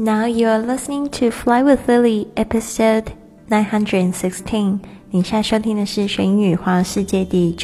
Now you are listening to Fly with Lily, episode 916. 你现在收听的是学英语环游世界第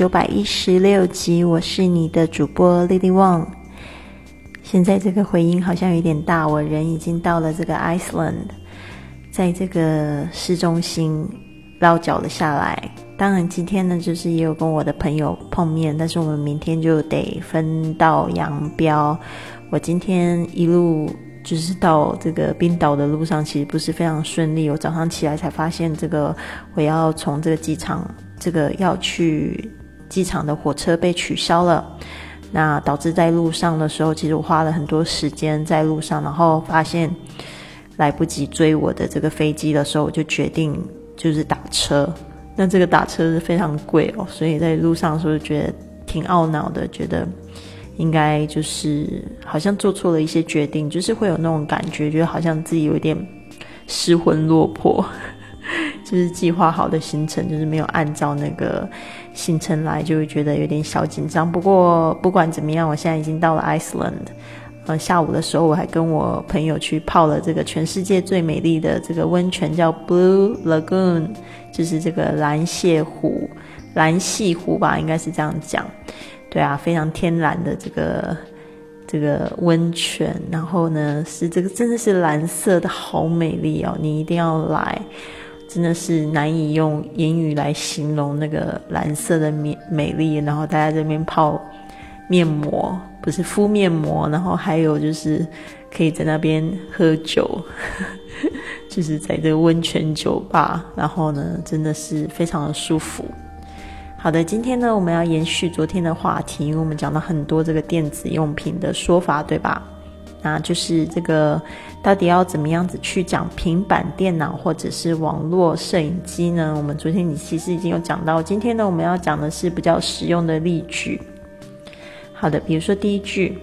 916集，我是你的主播 Lily Wong。现在这个回音好像有点大，我人已经到了这个 Iceland， 在这个市中心落脚了下来。当然今天呢，就是也有跟我的朋友碰面，但是我们明天就得分道扬镳。我今天一路就是到这个冰岛的路上其实不是非常顺利，我早上起来才发现这个我要从这个机场，这个要去机场的火车被取消了，那导致在路上的时候其实我花了很多时间在路上，然后发现来不及追我的这个飞机的时候，我就决定就是打车。那这个打车是非常贵哦，所以在路上的时候就觉得挺懊恼的，觉得应该就是好像做错了一些决定，就是会有那种感觉，觉得好像自己有点失魂落魄就是计划好的行程就是没有按照那个行程来，就会觉得有点小紧张。不过不管怎么样，我现在已经到了 Iceland，下午的时候我还跟我朋友去泡了这个全世界最美丽的这个温泉，叫 Blue Lagoon， 就是这个蓝泻湖吧，应该是这样讲。对啊，非常天然的这个温泉，然后呢是这个真的是蓝色的，好美丽哦，你一定要来，真的是难以用言语来形容那个蓝色的美丽。然后大家这边泡面膜，不是敷面膜，然后还有就是可以在那边喝酒就是在这个温泉酒吧，然后呢真的是非常的舒服。好的，今天呢我们要延续昨天的话题，因为我们讲到很多这个电子用品的说法，对吧？那就是这个到底要怎么样子去讲平板电脑或者是网络摄影机呢？我们昨天其实已经有讲到，今天呢我们要讲的是比较实用的例句。好的，比如说第一句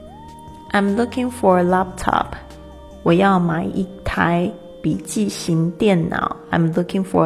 I'm looking for a laptop， 我要买一台笔记型电脑。 I'm looking for a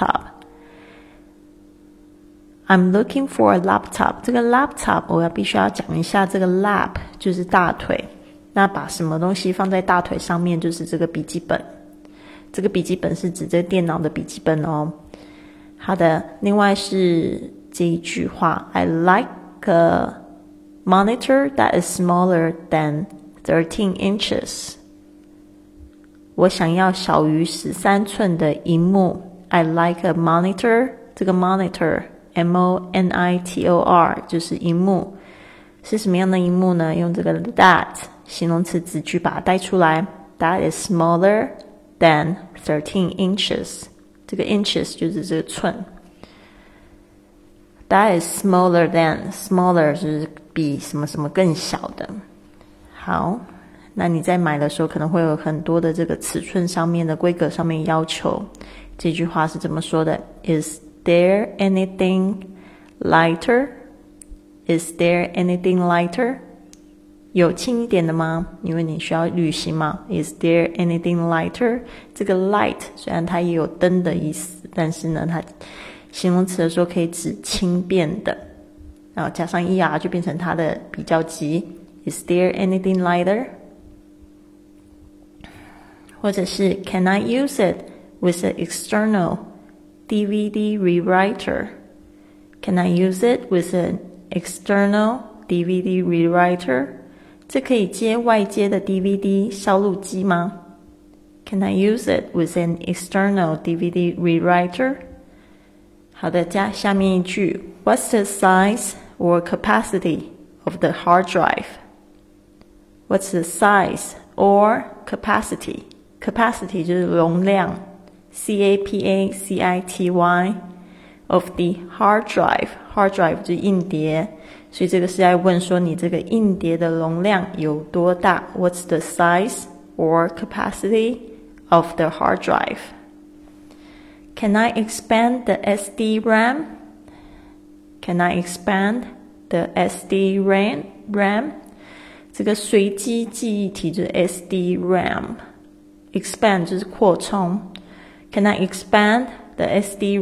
laptop，I'm looking for a laptop， 这个 laptop 我必须要讲一下，这个 lap 就是大腿，那把什么东西放在大腿上面就是这个笔记本，这个笔记本是指这个电脑的笔记本哦。好的，另外是这一句话 I like a monitor that is smaller than 13 inches， 我想要小于13寸的萤幕。 I like a monitor， 这个 monitor monitor 就是萤幕，是什么样的萤幕呢？用这个 that 形容词子句把它带出来， that is smaller than 13 inches， 这个 inches 就是这个寸， that is smaller than smaller 就是比什么什么更小的。好，那你在买的时候可能会有很多的这个尺寸上面的规格上面要求，这句话是这么说的， Is there anything lighter？ Is there anything lighter？ 有轻一点的吗？因为你需要旅行嘛。 Is there anything lighter？ 这个 light 虽然它也有灯的意思，但是呢它形容词的时候可以指轻便的，然后加上 er 就变成它的比较级。 Is there anything lighter？ 或者是 Can I use it with an external DVD rewriter？ Can I use it with an external DVD rewriter？ 这可以接外接的 DVD 烧录机吗？ Can I use it with an external DVD rewriter？ 好的，加下面一句 What's the size or capacity of the hard drive？ What's the size or capacity？ Capacity 就是容量， C-A-P-A-C-I-T-Y of the hard drive， hard drive 就是硬碟，所以这个是在问说你这个硬碟的容量有多大。 What's the size or capacity of the hard drive？ Can I expand the SD RAM？ Can I expand the SD RAM？ 这个随机记忆体就是 SD RAM， expand 就是扩充。 Can I expand the SD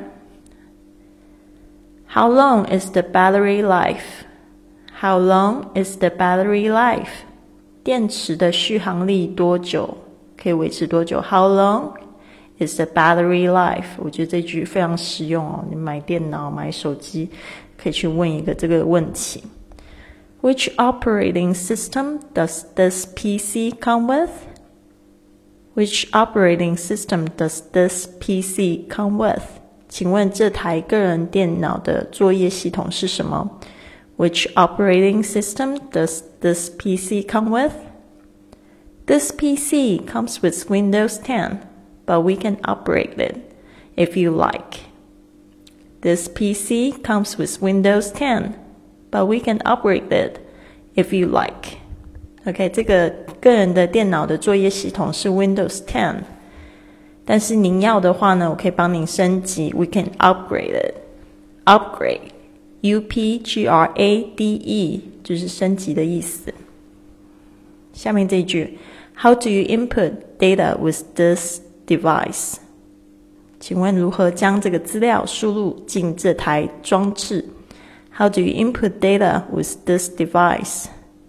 RAM？How long is the battery life? How long is the battery life? 电池的续航力多久可以维持多久 ？How long is the battery life？ 我觉得这句非常实用哦。你买电脑、买手机，可以去问一个这个问题。Which operating system does this PC come with? Which operating system does this PC come with? 请问这台个人电脑的作业系统是什么？ Which operating system does this PC come with? This PC comes with Windows 10, but we can upgrade it if you like. This PC comes with Windows 10, but we can upgrade it if you like. OK, 这个个人的电脑的作业系统是 Windows 10， 但是您要的话呢，我可以帮您升级 We can upgrade it. Upgrade, U-P-G-R-A-D-E 就是升级的意思。下面这一句 How do you input data with this device? 请问如何将这个资料输入进这台装置？ How do you input data with this device?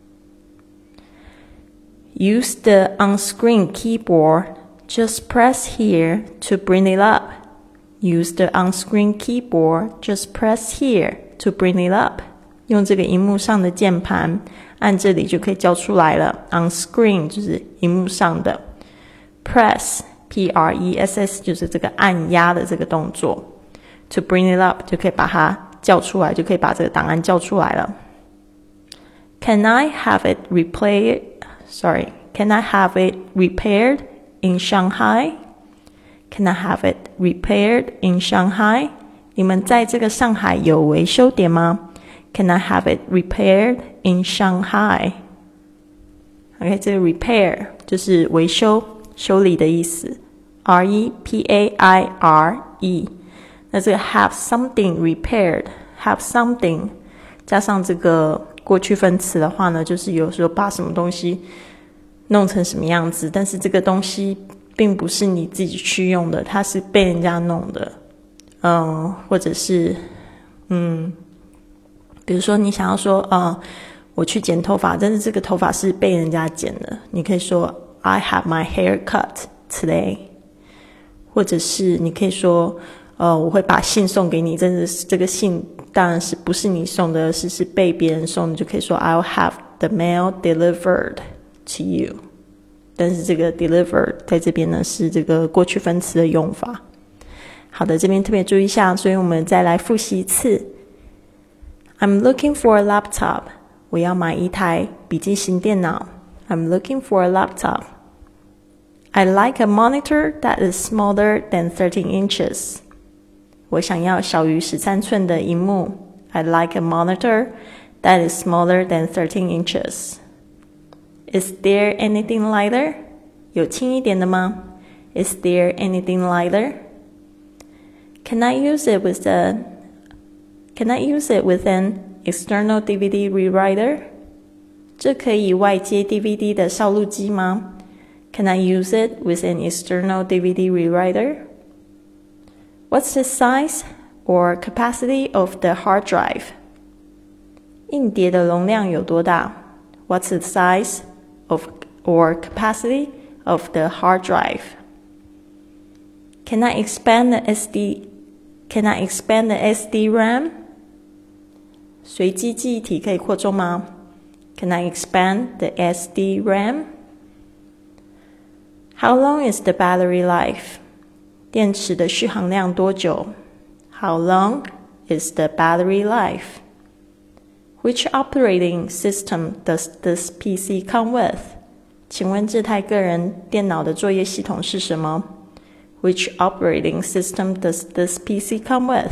Use the on-screen keyboard. Just press here to bring it up. Use the on-screen keyboard. Just press here to bring it up. 用这个萤幕上的键盘，按这里就可以叫出来了。On-screen 就是萤幕上的。Press, P-R-E-S-S 就是这个按压的这个动作。To bring it up 就可以把它叫出来，就可以把这个档案叫出来了。Can I have it Can I have it repaired in Shanghai? Can I have it repaired in Shanghai? 你们在这个上海有维修点吗？ Can I have it repaired in Shanghai? OK, 这个 repair 就是维修、修理的意思。R-E-P-A-I-R-E 那这个 have something repaired, have something 加上这个过去分词的话呢，就是有时候把什么东西弄成什么样子，但是这个东西并不是你自己去用的，它是被人家弄的。或者是比如说你想要说我去剪头发，但是这个头发是被人家剪的，你可以说 I have my hair cut today。或者是你可以说我会把信送给你，但是这个信当然是不是你送的，是被别人送的，就可以说 I'll have the mail delivered to you。 但是这个 delivered 在这边呢是这个过去分词的用法。好的，这边特别注意一下，所以我们再来复习一次。I'm looking for a laptop. 我要买一台笔记型电脑。I'm looking for a laptop. I like a monitor that is smaller than 13 inches. 我想要小于13寸的萤幕。I like a monitor that is smaller than 13 inches. Is there anything lighter? 有轻一点的吗？ Is there anything lighter? Can I use it with an external DVD rewriter? 这可以外接 DVD 的烧录机吗？ Can I use it with an external DVD rewriter? What's the size or capacity of the hard drive? 硬碟的容量有多大？ What's the size or capacity of the hard drive? Can I expand the SD RAM? 随机记忆体可以扩充吗？ Can I expand the SD RAM? How long is the battery life? 电池的续航量多久？ How long is the battery life? Which operating system does this PC come with? 请问这台个人电脑的作业系统是什么？ Which operating system does this PC come with?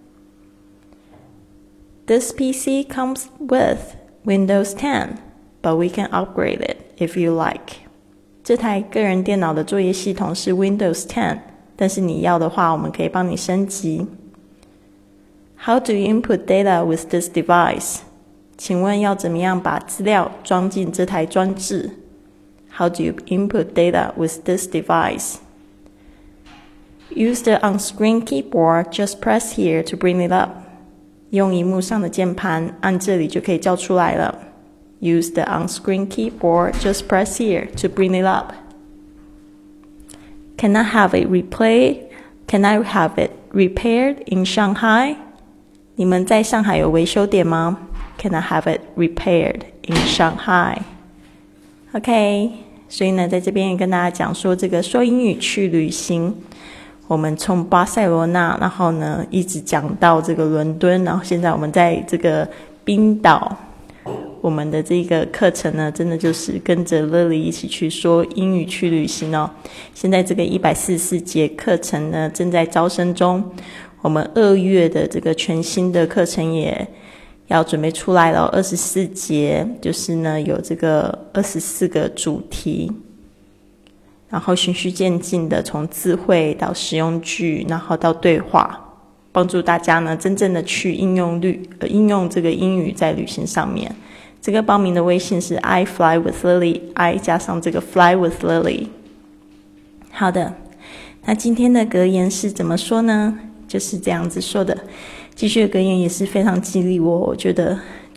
This PC comes with Windows 10, but we can upgrade it if you like. 这台个人电脑的作业系统是 Windows 10, 但是你要的话，我们可以帮你升级。How do you input data with this device? 请问要怎么样把资料装进这台装置？ How do you input data with this device? Use the on-screen keyboard, just press here to bring it up. 用萤幕上的键盘，按这里就可以叫出来了。Use the on-screen keyboard, just press here to bring it up. Can I have it repaired?Can I have it repaired in Shanghai? 你们在上海有维修点吗？ Can I have it repaired in Shanghai? OK, 所以呢，在这边也跟大家讲说，这个说英语去旅行，我们从巴塞罗那，然后呢一直讲到这个伦敦，然后现在我们在这个冰岛。我们的这个课程呢，真的就是跟着 Lily 一起去说英语去旅行哦。现在这个144节课程呢，正在招生中。我们2月的这个全新的课程也要准备出来了，24节，就是呢有这个24个主题，然后循序渐进的从词汇到实用句，然后到对话，帮助大家呢真正的去应用这个英语在旅行上面。这个报名的微信是 I fly with Lily， I 加上这个 fly with Lily。 好的，那今天的格言是怎么说呢？就是这样子说的。继续的格言也是非常激励我觉得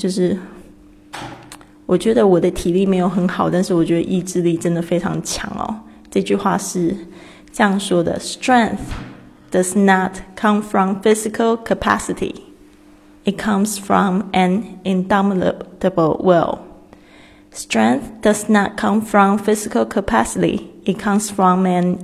我的体力没有很好，但是我觉得意志力真的非常强哦。这句话是这样说的： Strength does not come from physical capacity.It comes from an indomitable will. Strength does not come from physical capacity. It comes from an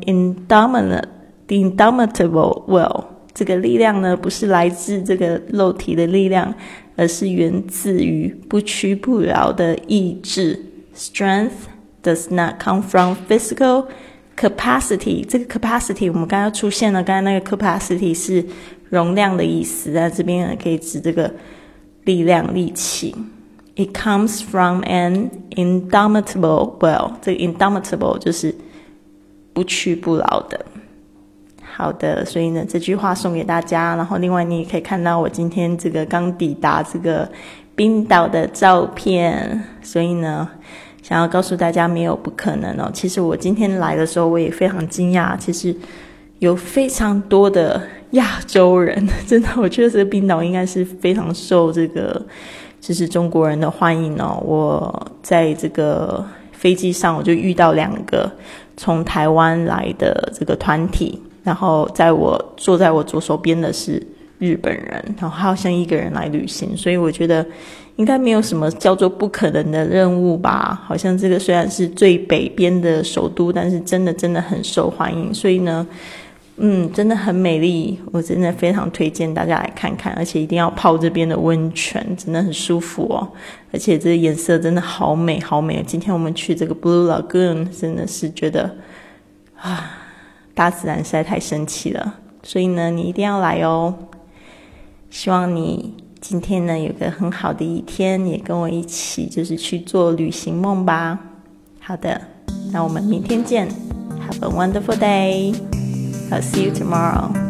indomitable will. 这个力量呢，不是来自这个肉体的力量，而是源自于不屈不挠的意志。Strength does not come from physical capacity. 这个 capacity 我们刚刚出现了，刚才那个 capacity 是容量的意思，在这边可以指这个力量、力气。It comes from an indomitable will. 这个 indomitable 就是不屈不挠的。好的，所以呢，这句话送给大家。然后另外你也可以看到我今天这个刚抵达这个冰岛的照片。所以呢，想要告诉大家没有不可能哦。其实我今天来的时候我也非常惊讶，其实有非常多的亚洲人，真的，我觉得这个冰岛应该是非常受这个就是中国人的欢迎哦。我在这个飞机上我就遇到2个从台湾来的这个团体，然后坐在我左手边的是日本人，然后好像1个人来旅行，所以我觉得应该没有什么叫做不可能的任务吧。好像这个虽然是最北边的首都，但是真的很受欢迎，所以呢真的很美丽，我真的非常推荐大家来看看，而且一定要泡这边的温泉，真的很舒服哦。而且这个颜色真的好美好美。今天我们去这个 Blue Lagoon， 真的是觉得大自然实在太神奇了，所以呢你一定要来哦。希望你今天呢有个很好的一天，也跟我一起就是去做旅行梦吧。好的，那我们明天见。Have a wonderful day. I'll see you tomorrow.